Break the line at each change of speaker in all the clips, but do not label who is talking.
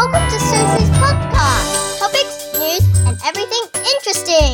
Welcome to Susie's podcast. Topics, news, and everything interesting.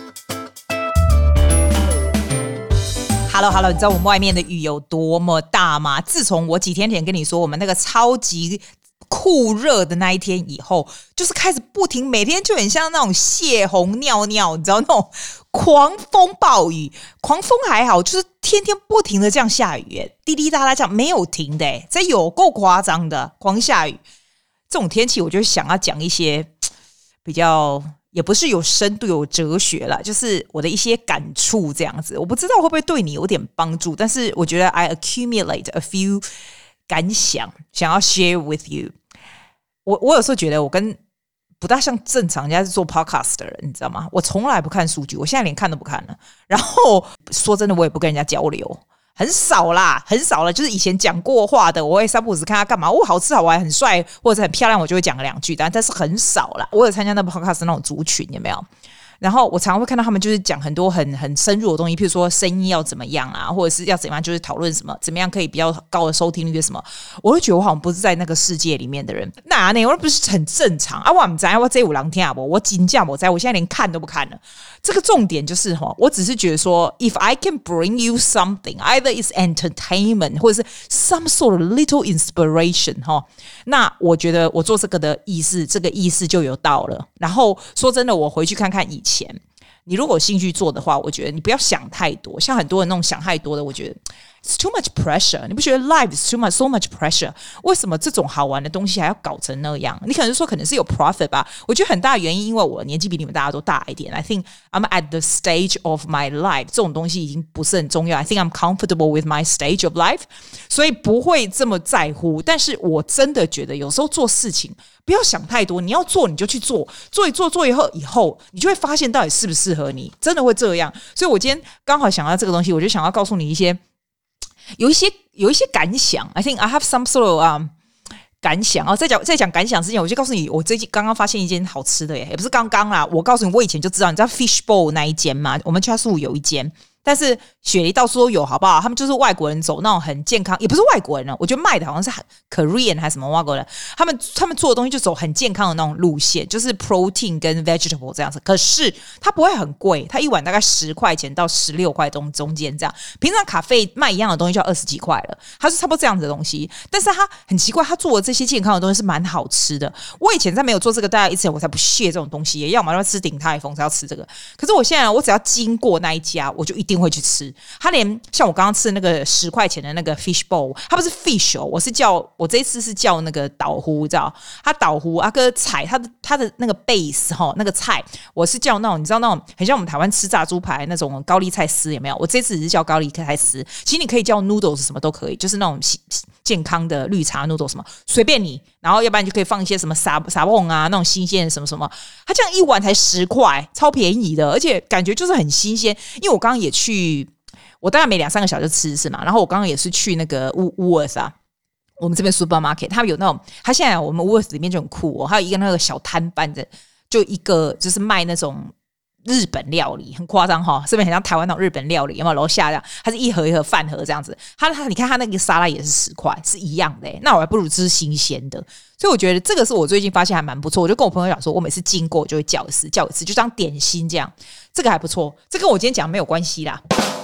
Hello， 你知道我们外面的雨有多麼大嗎？自從我幾天前跟你說我們那個超級酷熱的那一天以後，就是開始不停，每天就很像那種泄洪尿尿，你知道那種狂風暴雨。狂風還好，就是天天不停的這樣下雨，滴滴答答這樣沒有停的，這有夠誇張的，狂下雨。這種天氣，我就想要講一些比較。也不是有深度有哲學啦，就是我的一些感觸這樣子，我不知道會不會對你有點幫助，但是我覺得 I accumulate a few 感想要 share with you。我有時候覺得我跟不大像正常人家是做 podcast 的人，你知道嗎？我從來不看數据，我現在連看都不看了。然後說真的，我也不跟人家交流。很少啦，很少了。就是以前講過話的，我會三不五時看他幹嘛。好吃好玩很帥或者很漂亮，我就會講個兩句，但是很少啦。我有參加那 podcast 那種族群，有沒有？然後我常常會看到他們就是講很多很深入的東西，譬如說聲音要怎麼樣啊，或者是要怎麼樣，就是討論什麼，怎麼樣可以比較高的收聽率什麼。我會覺得我好像不是在那個世界裡面的人。那我不是很正常啊？我不知道我這有人聽啊，我真的不知道，我現在連看都不看了。這個重點就是我只是覺得說 ，if I can bring you something, either it's entertainment 或者是 some sort of little inspiration 那我覺得我做這個的意思，這個意思就有到了。然後說真的，我回去看看以前，你如果有興趣做的話，我覺得你不要想太多。像很多人那種想太多的，我覺得 it's too much pressure。你不覺得 life is so much pressure？ 為什麼這種好玩的東西還要搞成那樣？你可能說可能是有 profit 吧。我覺得很大的原因，因為我年紀比你們大家都大一點。I think I'm at the stage of my life。這種東西已經不是很重要。I think I'm comfortable with my stage of life， 所以不會這麼在乎。但是我真的覺得有時候做事情不要想太多，你要做你就去做，做以後你就會發現到底適不適合你，真的會這樣。所以我今天剛好想到這個東西，我就想要告訴你有一些感想。I think I have some sort of感想。在講感想之前，我就告訴你，我最近剛剛發現一間好吃的耶，也不是剛剛啦，我告訴你，我以前就知道，你知道 Fishbowl 那一間嗎？我們家宿有一間。但是雪梨到處都有，好不好？他們就是外國人走那種很健康，也不是外國人了，我覺得賣的好像是 Korean 還是什麼外國人，他們做的東西就走很健康的那種路線，就是 protein 跟 vegetable 這樣子。可是它不會很貴，它一碗大概10塊錢到16塊中間這樣。平常咖啡賣一樣的東西就要20幾塊了，它是差不多這樣子的東西。但是它很奇怪，它做的這些健康的東西是蠻好吃的。我以前在沒有做這個大概之前，我才不屑這種東西，要麼要吃鼎泰豐才要吃這個。可是我現在我只要經過那一家，我就一定會去吃。他連像我剛剛吃的那個10塊錢的那個 fish bowl， 它不是 fish 我這一次是叫那個島菇，你知道？它島菇跟菜，它的那個 base 那個菜，我是叫那種你知道那種很像我們台灣吃炸豬排那種高麗菜絲，有沒有？我這次只是叫高麗菜絲，其實你可以叫 noodles 什麼都可以，就是那種健康的綠茶 noodles 什麼隨便你，然後要不然就可以放一些什麼沙蹦啊那種新鮮的什麼什麼，它這樣一碗才10塊，超便宜的，而且感覺就是很新鮮。因為我剛剛也去。我大概每2-3個小時就吃一次嘛，然後我剛剛也是去那個 Woolworths 啊，我們這邊 supermarket， 他們有那種，他現在我們 Woolworths 裡面就很酷還有一個那個小攤販的，就一個就是賣那種日本料理，很誇張這邊很像台灣那種日本料理，有沒有？樓下這樣，它是一盒一盒飯盒這樣子，你看它那個沙拉也是10塊，是一樣的那我還不如吃新鮮的，所以我覺得這個是我最近發現還蠻不錯，我就跟我朋友講說，我每次經過就會叫一次，就當點心這樣，這個還不錯，這跟我今天講沒有關係啦。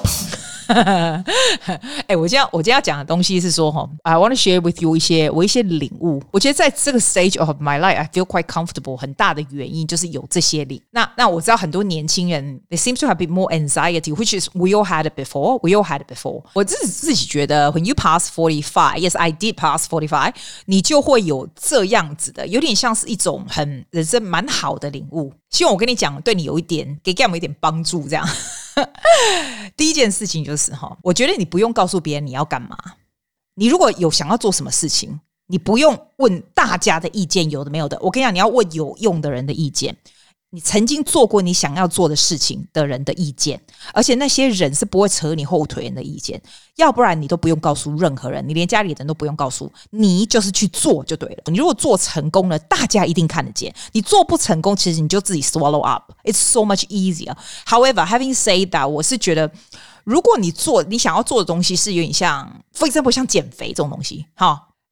我今天要講的東西是說I want to share with you 我一些領悟。我覺得在這個 stage of my life I feel quite comfortable， 很大的原因就是有這些領。那我知道很多年輕人 they seem to have a bit more anxiety, which is we all had it before. 我自己覺得 when you pass 45, yes I did pass 45, 你就會有這樣子的，有點像是一種很人生蠻好的領悟。希望我跟你講對你有一點給我們一點幫助這樣。第一件事情就是我覺得你不用告訴別人你要幹嘛。你如果有想要做什麼事情，你不用問大家的意見，有的沒有的。我跟你講，你要問有用的人的意見，你曾經做過你想要做的事情的人的意見，而且那些人是不会扯你後腿人的意見，要不然你都不用告訴任何人，你连家裡的人都不用告訴，你就是去做就对了。你如果做成功了，大家一定看得見，你做不成功，其實你就自己 swallow up. It's so much easier. However, having said that, 我是覺得如果你想要做的東西是有點像 for example 像減肥這種東西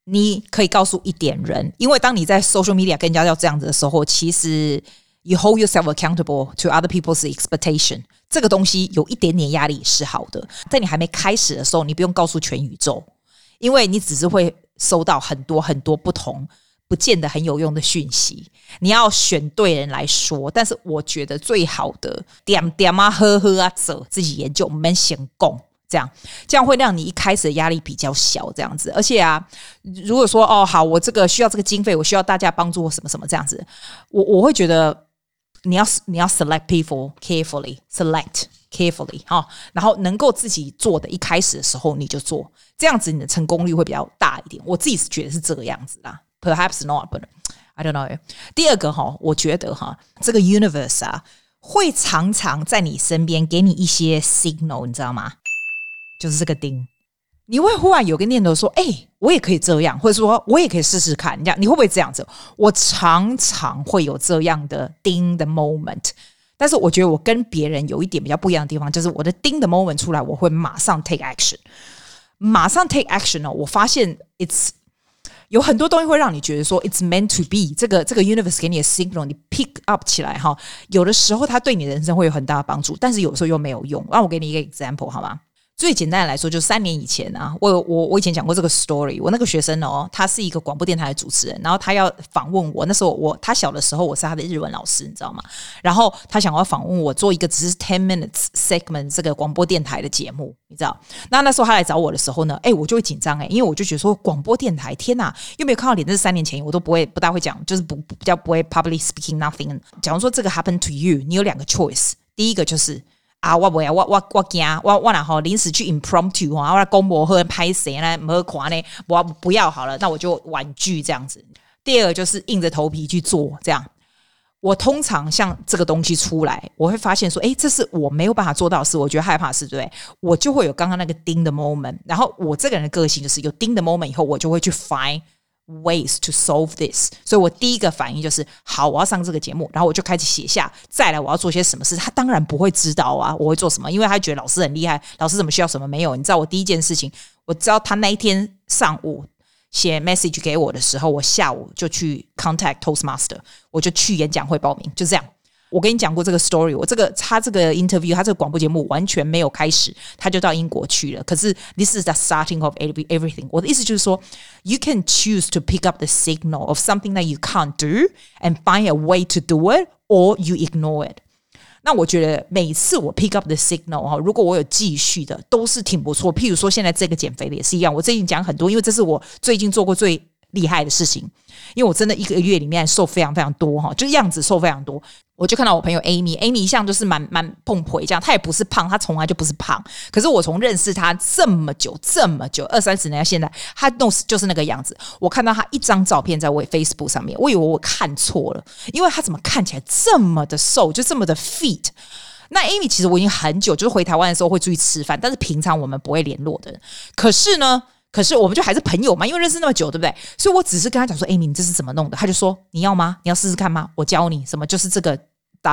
你可以告訴一點人，因為當你在 social media 跟人家要這樣子的時候，其實 you hold yourself accountable to other people's expectation， 這個東西有一點點壓力是好的。在你還沒開始的時候，你不用告訴全宇宙，因為你只是會收到很多很多不同不見得很有用的訊息，你要選對人來說。但是我覺得最好的點點啊呵呵啊走，自己研究，我們先供。這樣會讓你一開始的壓力比較小，這樣子。而且啊，如果說哦好，我這個需要這個經費，我需要大家幫助我什麼什麼這樣子，我會覺得你要 select people carefully， select carefully 哈，然後能夠自己做的，一開始的時候你就做，這樣子你的成功率會比較大一點。我自己是覺得是這個樣子啦 ，perhaps not， but I don't know。第二個哈，我覺得哈，這個 universe 啊，會常常在你身邊給你一些 signal， 你知道嗎？就是這個釘，你會忽然有個念頭說：“我也可以這樣，或者說我也可以試試看。”這樣你會不會這樣子？我常常會有這樣的釘的 moment， 但是我覺得我跟別人有一點比較不一樣的地方，就是我的釘的 moment 出來，我會馬上 take action， 馬上 take action 哦。我發現 有很多東西會讓你覺得說 it's meant to be， 這個 universe 給你的 signal， 你 pick up 起來哈。有的時候它對你的人生會有很大的幫助，但是有的時候又沒有用。讓我給你一個 example 好嗎？最簡單的來說，就3年以前啊，我以前講過這個 story。我那個學生哦，他是一個廣播電台的主持人，然後他要訪問我。那時候他小的時候，我是他的日文老師，你知道嗎？然後他想要訪問我，做一個只是10 minutes segment 這個廣播電台的節目，你知道？那時候他來找我的時候呢，我就會緊張因為我就覺得說廣播電台，天哪，又沒有看到臉，這是3年前，我都不大會講，就是比較不會 public speaking nothing。假如說這個 happen to you， 你有2個 choice， 第一個就是。我不要，我驚，我然後臨時去 impromptu 我來公模和拍誰呢？沒看呢，我不要好了，那我就婉拒這樣子。第二個就是硬着頭皮去做，這樣。我通常像這個東西出來，我會發現說，這是我沒有辦法做到的事，我覺得害怕的事，對不對？我就會有剛剛那個釘的 moment， 然後我這個人的個性就是有釘的 moment 以後，我就會去 find ways to solve this， 所以我第一個反應就是好，我要上這個節目，然後我就開始寫下，再來我要做些什麼事。他當然不會知道啊，我會做什麼，因為他覺得老師很厲害，老師怎麼需要什麼沒有。你知道我第一件事情，我知道他那一天上午寫 message 給我的時候，我下午就去 contact Toastmaster， 我就去演講會報名，就這樣。我跟你講過這個 story， 他這個 interview， 他這個廣播節目完全沒有開始，他就到英國去了。可是 this is the starting of everything。我的意思就是說 ，you can choose to pick up the signal of something that you can't do and find a way to do it, or you ignore it。那我覺得每次我 pick up the signal 如果我有繼續的，都是挺不錯。譬如說现在這個減肥的也是一樣，我最近講很多，因為這是我最近做過最厲害的事情，因為我真的1個月裡面瘦非常非常多就樣子瘦非常多。我就看到我朋友 Amy 一向就是蠻碰腿這樣，她也不是胖，她從來就不是胖。可是我從認識她這麼久，20-30年到現在，她就是那個樣子。我看到她一張照片在我 Facebook 上面，我以為我看錯了，因為她怎麼看起來這麼的瘦，就這麼的 fit。那 Amy 其實我已經很久，就是回台灣的時候會出去吃飯，但是平常我們不會聯絡的人。可是我們就還是朋友嘛，因為認識那麼久，對不對？所以我只是跟他講說，Amy，你這是怎麼弄的？他就說，你要嗎？你要試試看嗎？我教你什麼，就是這個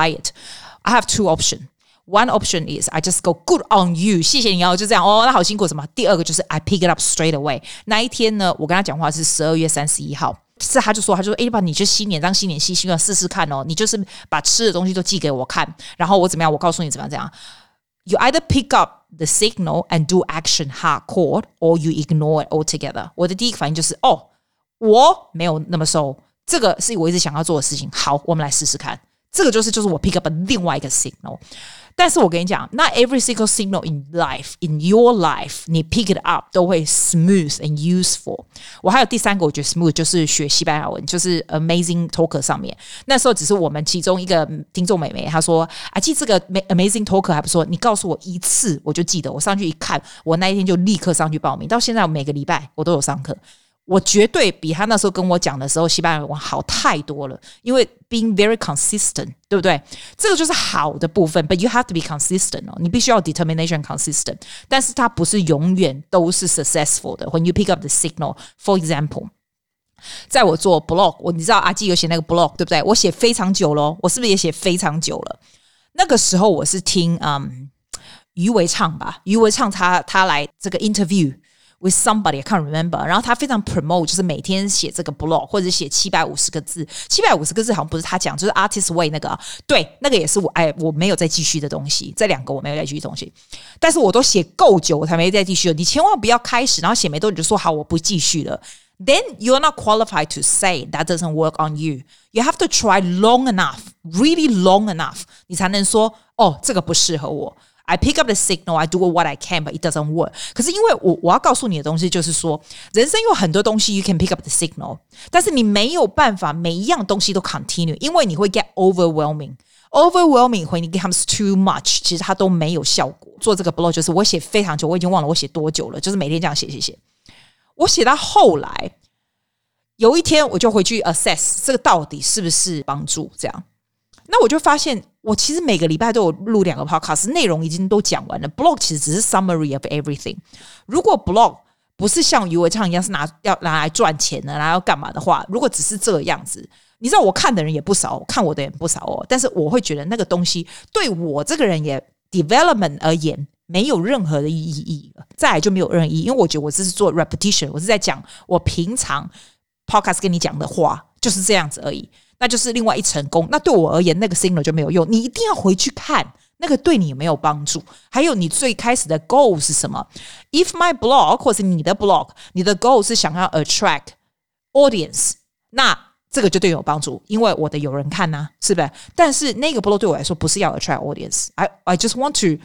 diet。I have 2 options. One option is I just go good on you， 謝謝你就這樣那好辛苦什麼。第二個就是 I pick it up straight away。那一天呢，我跟他講話是12月31號，是他就說吧，你就新年當新年新希望試試看你就是把吃的東西都寄給我看，然後我怎麼樣，我告訴你怎麼樣。You either pick up the signal and do action hardcore, or you ignore it altogether. 我的第一個反應就是我沒有那麼瘦，這個是我一直想要做的事情。好，我們來試試看。這個就是我 pick up 的另外一個 signal。但是我跟你講，not every single signal in life, in your life, 你 pick it up 都會 smooth and useful。我還有第3個，我覺得 smooth 就是學西班牙文，就是 Amazing Talker 上面。那時候只是我們其中一個聽眾妹妹，她說記這個 Amazing Talker 還不錯，你告訴我1次我就記得。我上去一看，我那一天就立刻上去報名，到現在我每個禮拜我都有上課。我絕對比他那時候跟我講的時候西班牙文好太多了，因為 being very consistent， 對不對？這個就是好的部分 ，but you have to be consistent 你必須要 determination consistent， 但是它不是永遠都是 successful 的。When you pick up the signal, for example， 在我做 blog， 你知道阿基有寫那個 blog， 對不對？我寫非常久了，我是不是也寫非常久了？那個時候我是聽余維暢吧，余維暢他來這個 interview。 with somebody I can't remember， 然後他非常 promote 就是每天寫這個 blog 或者寫750個字，750個字好像不是他講，就是 Artist Way 那個，對，那個也是我沒有再繼續的東西，這兩個我沒有再繼續的東西，但是我都寫夠久我才沒再繼續了。你千萬不要開始，然後寫沒多久就說好我不繼續了。Then you're not qualified to say that doesn't work on you. You have to try long enough, really long enough. 你才能說，哦，這個不適合我。I pick up the signal, I do what I can, but it doesn't work. 可是因為我要告訴你的東西就是說，人生有很多東西 you can pick up the signal, 但是你沒有辦法每一樣東西都 continue, 因為你會 get overwhelming. Overwhelming when it becomes too much, 其實它都沒有效果。做這個 blog 就是我寫非常久，我已經忘了我寫多久了，就是每天這樣寫。我寫到後來，有一天我就回去 assess 這個到底是不是幫助這樣。那我就發現，我其實每個禮拜都有錄2個 podcast， 內容已經都講完了。blog 其實只是 summary of everything。如果 blog 不是像余偉暢一樣是要拿來賺錢的，然後要幹嘛的話，如果只是這個樣子，你知道我看的人也不少，看我的人也不少哦。但是我會覺得那個東西對我這個人也 development 而言，沒有任何的意義了，再來就沒有任何意義，因為我覺得我這是做 repetition， 我是在講我平常 podcast 跟你講的話，就是這樣子而已，那就是另外一層功。那對我而言，那個 signal 就沒有用，你一定要回去看那個對你有沒有幫助，還有你最開始的 goal 是什麼。If my blog 或是你的 blog， 你的 goal 是想要 attract audience， 那這個就對你有幫助，因為我的有人看啊，是不是？但是那個 blog 對我來說不是要 attract audience， I just want to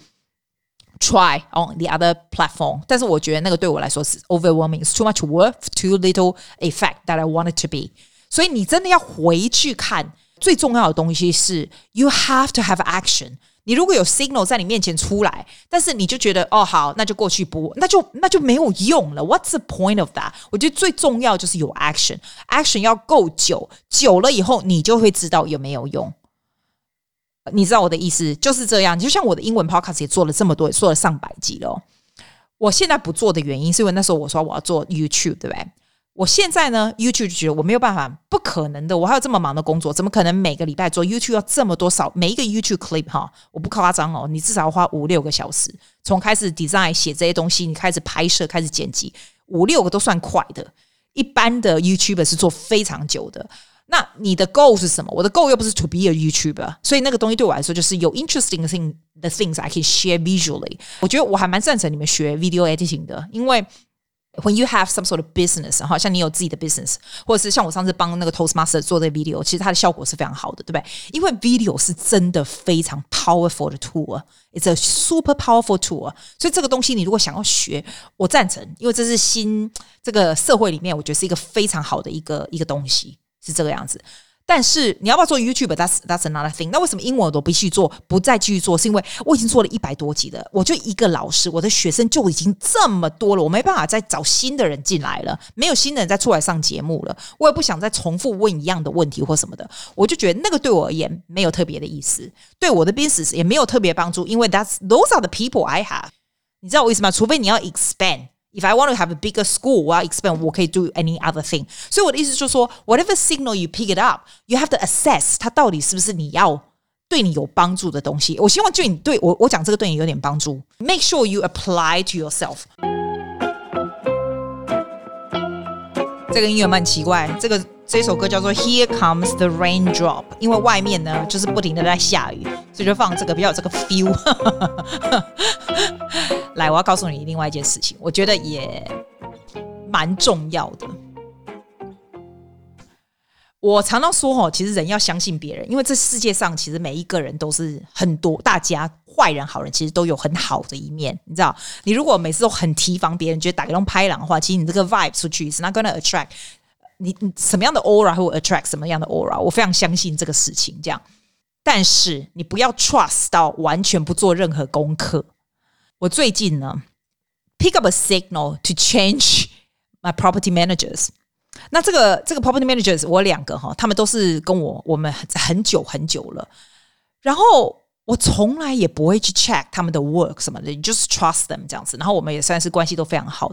try on the other platform， 但是我覺得那個對我來說是 overwhelming, it's too much work, too little effect that I want it to be。 所以你真的要回去看，最重要的東西是 you have to have action。 你如果有 signal 在你面前出來，但是你就覺得哦好，那就過去不，那就沒有用了。 What's the point of that？ 我覺得最重要就是有 action 要夠久了以後你就會知道有沒有用。你知道我的意思就是這樣，就像我的英文 podcast 也做了這麼多，也做了上百集了。我現在不做的原因是因為那時候我說我要做 YouTube， 對不對？我現在呢 YouTube 就覺得我沒有辦法，不可能的，我還有這麼忙的工作，怎麼可能每個禮拜做 YouTube 要這麼多少每一個 YouTube clip 哈，我不誇張哦，你至少要花5-6個小時，從開始 design 寫這些東西，你開始拍攝，開始剪輯，5-6個都算快的，一般的 YouTuber 是做非常久的。那你的 goal 是什麼？我的 goal 又不是 to be a YouTuber， 所以那個東西對我來說就是有 interesting the things I can share visually。 我覺得我還蠻贊成你們學 video editing 的，因為 when you have some sort of business， 像你有自己的 business， 或者是像我上次幫那個 Toastmaster 做這個 video， 其實它的效果是非常好的，對不對？因為 video 是真的非常 powerful 的 tool，it's a super powerful tool。 所以這個東西你如果想要學，我贊成，因為這是新這個社會裡面我覺得是一個非常好的一個東西，是這個樣子。但是你要不要做 YouTube？ That's another thing。那為什麼英文我都必須做，不再繼續做？是因为我已經做了100多集了，我就一個老師，我的學生就已經這麼多了，我沒辦法再找新的人進來了，沒有新的人再出來上節目了，我也不想再重複問一樣的問題或什麼的，我就覺得那個對我而言沒有特別的意思，對我的 business 也沒有特別幫助，因為those are the people I have。你知道我意思嗎？除非你要 expand。If I want to have a bigger school, 我要 expand, 我可以 do any other thing. 所以我的意思就是說 whatever signal you pick it up, you have to assess 它到底是不是你要對你有幫助的東西。我希望就你對我講這個對你有點幫助。Make sure you apply to yourself. 這個音樂蠻奇怪，這首歌叫做 Here Comes the Raindrop， 因為外面呢就是不停的在下雨，所以就放這個比較有這個 feel。來，我要告訴你另外一件事情，我覺得也蠻重要的。我常常說其實人要相信別人，因為這世界上其實每一個人都是很多，大家壞人好人其實都有很好的一面，你知道？你如果每次都很提防別人，覺得打個龍拍狼的話，其實你這個 vibe 出去 is not gonna attract 你什麼樣的 aura 會 attract 什麼樣的 aura， 我非常相信這個事情這樣。但是你不要 trust 到完全不做任何功課。我最近呢 pick up a signal to change my property managers。 那這個 property managers 我2個他們都是跟我們很久很久了，然後我從來也不會去 check 他們的 work 什麼的， just trust them 這樣子，然後我們也算是關係都非常好這樣。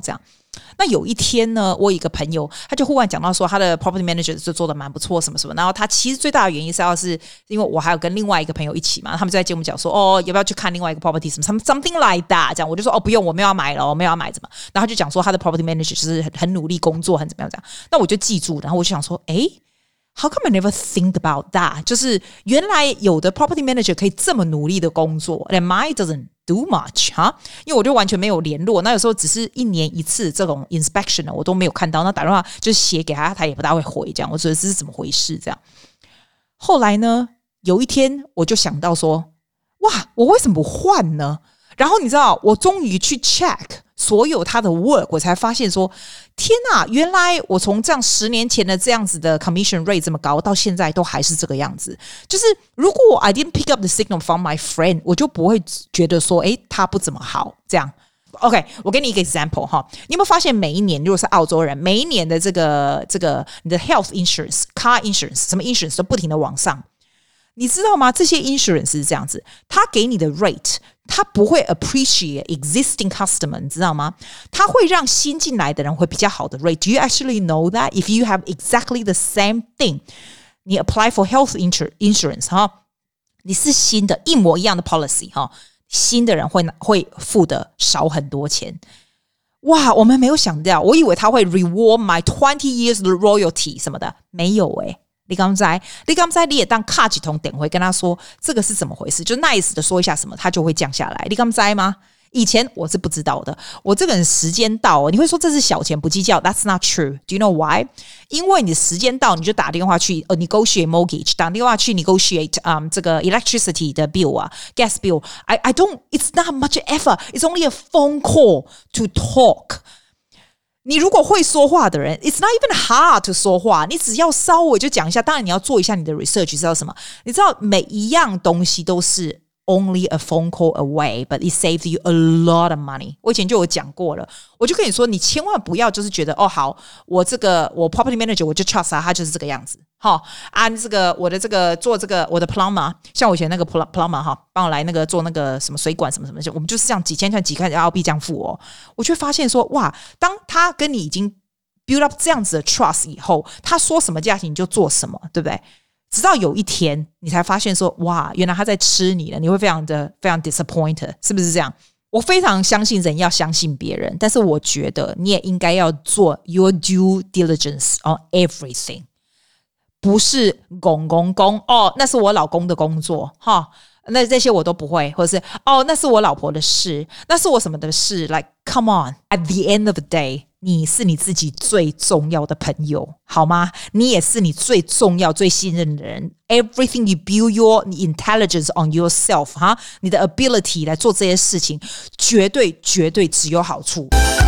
那有一天呢，我有一個朋友，他就忽然講到說，他的 property manager 就做得蠻不錯，什麼什麼。然後他其實最大的原因是因為我還有跟另外一個朋友一起嘛，他們就在節目講說，哦，要不要去看另外一個 property 什麼 something like that 這樣，我就說哦不用，我沒有要買了，我沒有要買怎麼。然後他就講說他的 property manager 就是很努力工作，很怎麼樣這樣。那我就記住，然後我就想說，誒，How come I never think about that？ 就是原來有的 property manager 可以這麼努力的工作 ，and mine doesn't do much 哈，因為我就完全沒有聯絡。那有時候只是1年1次這種 inspection 呢，我都沒有看到。那打電話就寫給他，他也不大會回，這樣我覺得這是怎麼回事？這樣。後來呢，有一天我就想到說，哇，我為什麼不換呢？然後你知道，我終於去 check 所有他的 work， 我才發現說，天哪，原來我從這樣10年前的這樣子的 commission rate 這麼高，到現在都還是這個樣子。就是如果 I didn't pick up the signal from my friend， 我就不會覺得說，誒，他不怎麼好這樣。OK， 我給你一個 example 哈，你有沒有發現每一年，如果是澳洲人，每一年的這個你的 health insurance、car insurance 什麼 insurance 都不停的往上。你知道嗎？這些 insurance 是這樣子，他給你的 rate， 他不會 appreciate existing customer， 你知道嗎？他會讓新進來的人會比較好的 rate。Do you actually know that? If you have exactly the same thing， 你 apply for health insurance 哈，你是新的一模一樣的 policy 哈，新的人會付的少很多錢。哇，我們沒有想到，我以為他會 reward my 20 years royalty 什麼的，沒有誒。你剛才你也當卡幾通點回跟他說這個是怎麼回事，就 nice 的說一下什麼，他就會降下來。你剛才嗎？以前我是不知道的，我這個人時間到，你會說這是小錢不計較 ，That's not true. Do you know why? 因為你時間到，你就打電話去negotiate mortgage， 打電話去 negotiate 這個 electricity 的 bill 啊 ，gas bill. I don't. It's not much effort. It's only a phone call to talk. 你如果會說話的人 ，It's not even hard to 說話，你只要稍微就講一下。當然你要做一下你的 research，知道什麼？你知道每一樣東西都是 only a phone call away, but it saves you a lot of money。我以前就有講過了，我就跟你說，你千萬不要就是覺得哦好，我 property manager 我就 trust 他就是這個樣子。好，按這個我的這個做這個我的 plumber， 像我以前那個 plumber 哈，幫我來那個做那個什麼水管什麼什麼，我們就是這樣幾千塊幾塊澳幣這樣付哦。我就會發現說，哇，當他跟你已經 build up 這樣子的 trust 以後，他說什麼價錢你就做什麼，對不對？直到有一天你才發現說，哇，原來他在吃你了，你會非常 disappointed， 是不是這樣？我非常相信人要相信別人，但是我覺得你也應該要做 your due diligence on everything。不是公哦，那是我老公的工作哈，那這些我都不會，或者是哦，那是我老婆的事，那是我什麼的事 ，like come on， at the end of the day， 你是你自己最重要的朋友，好嗎？你也是你最重要、最信任的人。Everything you build your intelligence on yourself 哈，你的 ability 來做這些事情，絕對只有好處。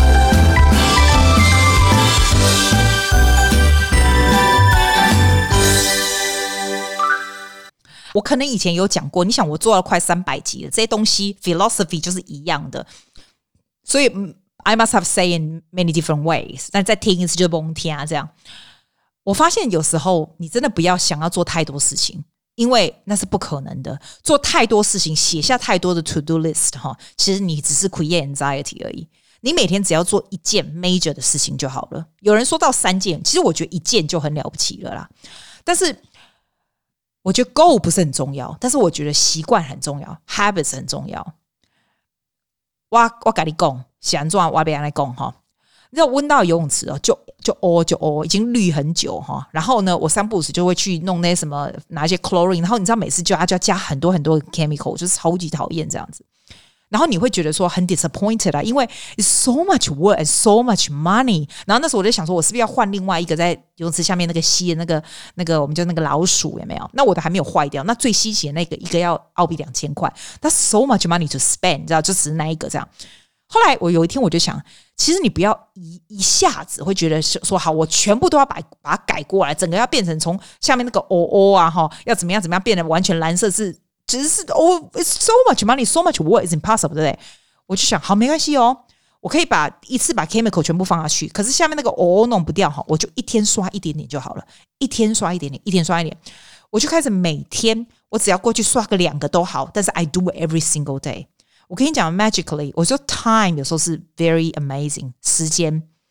我可能以前有講過，你想我做了快300集了，這些東西 philosophy 就是一樣的，所以 I must have said in many different ways。但再聽一次就甭聽啊，這樣。我發現有時候你真的不要想要做太多事情，因為那是不可能的。做太多事情，寫下太多的 to do list 哈，其實你只是 create anxiety 而已。你每天只要做一件 major 的事情就好了。有人說到3件，其實我覺得1件就很了不起了啦。但是我覺得 goal 不是很重要，但是我覺得習慣很重要 ，habits 很重要。我跟你講，是怎樣我要跟你講哈。你知道溫到游泳池哦，就已經濾很久哈。然後呢，我3不5時就會去弄那些什麼，拿一些 chlorine。然後你知道每次就要加很多 chemical， 就是超級討厭這樣子。然後你會覺得說很 disappointed 啊，因為 it's so much work and so much money。然後那時候我就想說，我是不是要換另外一個在游泳池下面那個吸的那個我們叫那個老鼠有沒有？那我的還沒有壞掉，那最稀奇的那個一個要澳幣2000塊， That's so much money to spend， 你知道，就只是那一個這樣。後來我有一天我就想，其實你不要一下子會覺得說好，我全部都要把它改過來，整個要變成從下面那個啊哈，要怎麼樣變得完全藍色是。只是it's so much money, so much work, it's impossible， 對不對？我就想，好，沒關係哦，我可以一次把 chemical 全部放下去，可是下面那個弄不掉哈，我就一天刷一點點就好了，一天刷一點點，一天刷一點，我就開始每天我只要過去刷個2個都好，但是 I do it every single day。我跟你講 magically， 我說 time 有時候是 very amazing， 時間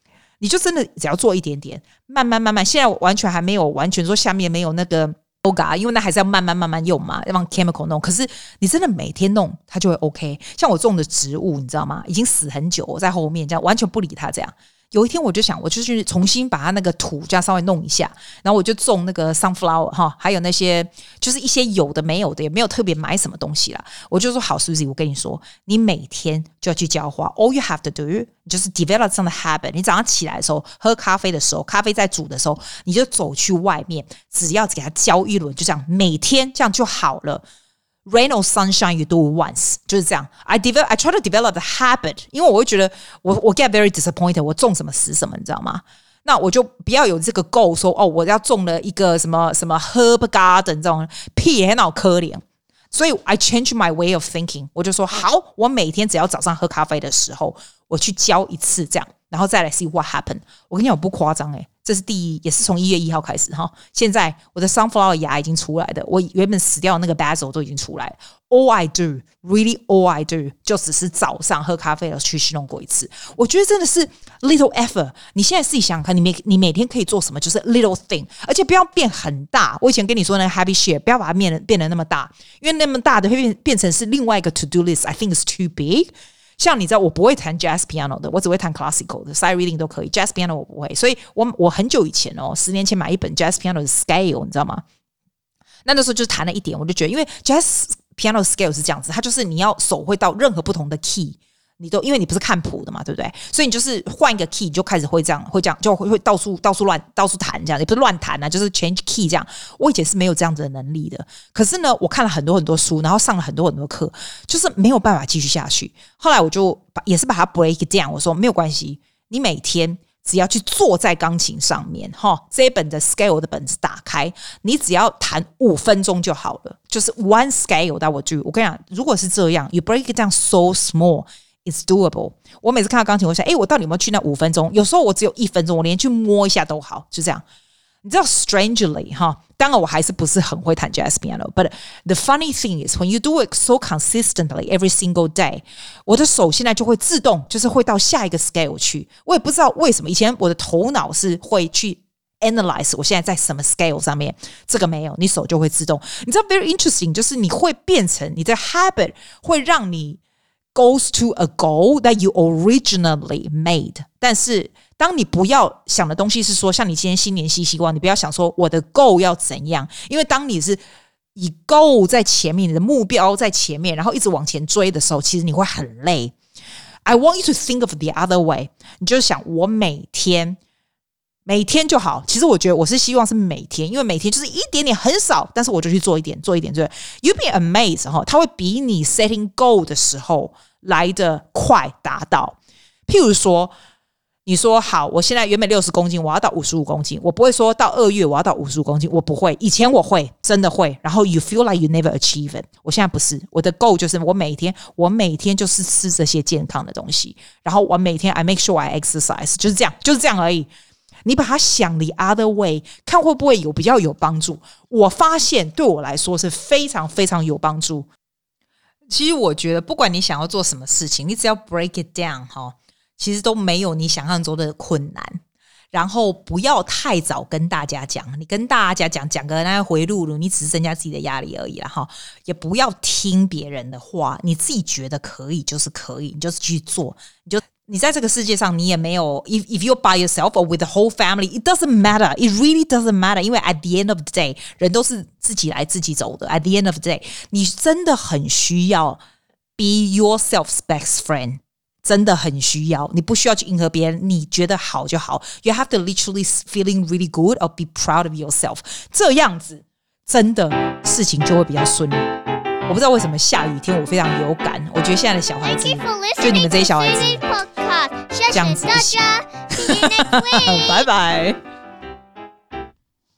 你就真的只要做一點點，慢慢，現在完全還沒有完全說下面沒有那個 yoga， 因為那還是要慢慢用嘛，要讓 chemical 弄。可是你真的每天弄，它就會 OK。像我種的植物，你知道嗎？已經死很久，我在後面這樣完全不理它這樣。有一天我就想，我就去重新把它那個土這樣稍微弄一下，然後我就種那個 sunflower 哈，還有那些就是一些有的沒有的，也沒有特別買什麼東西啦。我就說好 Susie， 我跟你說，你每天就要去澆花 ，all you have to do 就是 develop some habit。你早上起來的時候，喝咖啡的時候，咖啡在煮的時候，你就走去外面，只要给它澆一輪，就這樣，每天這樣就好了。Rain or sunshine, you do it once， 就是這樣。I try to develop the habit， 因為我會覺得我 get very disappointed， 我種什麼死什麼，你知道嗎？那我就不要有這個 goal， 說哦，我要種了一個什麼 herb garden 這種屁很好可憐。所以 I change my way of thinking， 我就說好，我每天只要早上喝咖啡的時候，我去澆一次這樣，然後再來 see what happen。我跟你講，我不誇張這是也是從1月1號開始哈。現在我的 sunflower 芽已經出來的，我原本死掉的那個 basil 都已經出來了。All I do, really all I do， 就只是早上喝咖啡的去弄過一次。我覺得真的是 little effort。你現在自己想想看，你每天可以做什麼？就是 little thing， 而且不要变很大。我以前跟你說那個 habit share， 不要把它变得那麼大，因為那麼大的會變成是另外一個 to do list。I think it's too big。像你知道，我不會彈 jazz piano 的，我只會彈 classical 的 sight reading 都可以 ，jazz piano 我不会。所以我很久以前10年前買一本 jazz piano 的 scale， 你知道嗎？那時候就彈了一點，我就覺得，因為 jazz piano scale 是這樣子，它就是你要手會到任何不同的 key， 你都因為你不是看譜的嘛，对不對？所以你就是換一個 key 就開始會這樣，就會到處彈這樣，也不是亂彈啊，就是 change key 這樣。我以前是沒有這樣子的能力的，可是呢，我看了很多書，然後上了很多課，就是沒有辦法繼續下去。後來我就也是把它 break it down， 我說沒有關係，你每天只要去坐在鋼琴上面，這一本的 scale 的本子打開，你只要彈5分鐘就好了，就是 one scale that will do。我跟你講，如果是這樣 ，you break it down so small。It's doable。我每次看到鋼琴，我想，我到底有沒有去那5分鐘？有時候我只有1分鐘，我連去摸一下都好，就這樣。你知道 ，strangely 當然我還是不是很會彈 jazz piano，but the funny thing is when you do it so consistently every single day， 我的手現在就會自動，就是會到下一個 scale 去。我也不知道為什麼，以前我的頭腦是會去 analyze 我現在在什麼 scale 上面，這個沒有，你手就會自動。你知道 very interesting， 就是你會變成你的 habit 會讓你goes to a goal that you originally made， 但是當你不要想的東西是說，像你今天新年新希望，你不要想說我的 goal 要怎樣，因為當你是以 goal 在前面，你的目標在前面，然後一直往前追的時候，其實你會很累。I want you to think of the other way， 你就想我每天就好。其實我覺得我是希望是每天，因為每天就是一點點很少，但是我就去做一點。You'll be amazed 它會比你 setting goal 的時候來得快達到。譬如說，你說好，我現在原本60公斤，我要到55公斤，我不會說到2月我要到55公斤，我不會。以前我會，真的會。然後 you feel like you never achieve it。我現在不是，我的 goal 就是我每天就是吃這些健康的東西，然後我每天 I make sure I exercise， 就是這樣而已。你把它想 the other way， 看會不會比較有幫助。我發現對我來說是非常非常有幫助。其實我覺得不管你想要做什麼事情，你只要 break it down 其實都沒有你想象中的困難。然後不要太早跟大家講，你跟大家講個那回路，你只是增加自己的壓力而已啦。也不要聽別人的話，你自己覺得可以就是可以，你就是去做，你在這個世界上，你也沒有 if you're by yourself or with the whole family, it doesn't matter. It really doesn't matter. 因為 at the end of the day, 人都是自己來自己走的。At the end of the day, 你真的很需要 be yourself's best friend. 真的很需要，你不需要去迎合別人，你覺得好就好。You have to literally feeling really good or be proud of yourself. 這樣子，真的事情就會比較順利。我不知道為什麼下雨天我非常有感，我覺得現在的小孩子，就你們這些小孩子，這樣子不行。拜拜。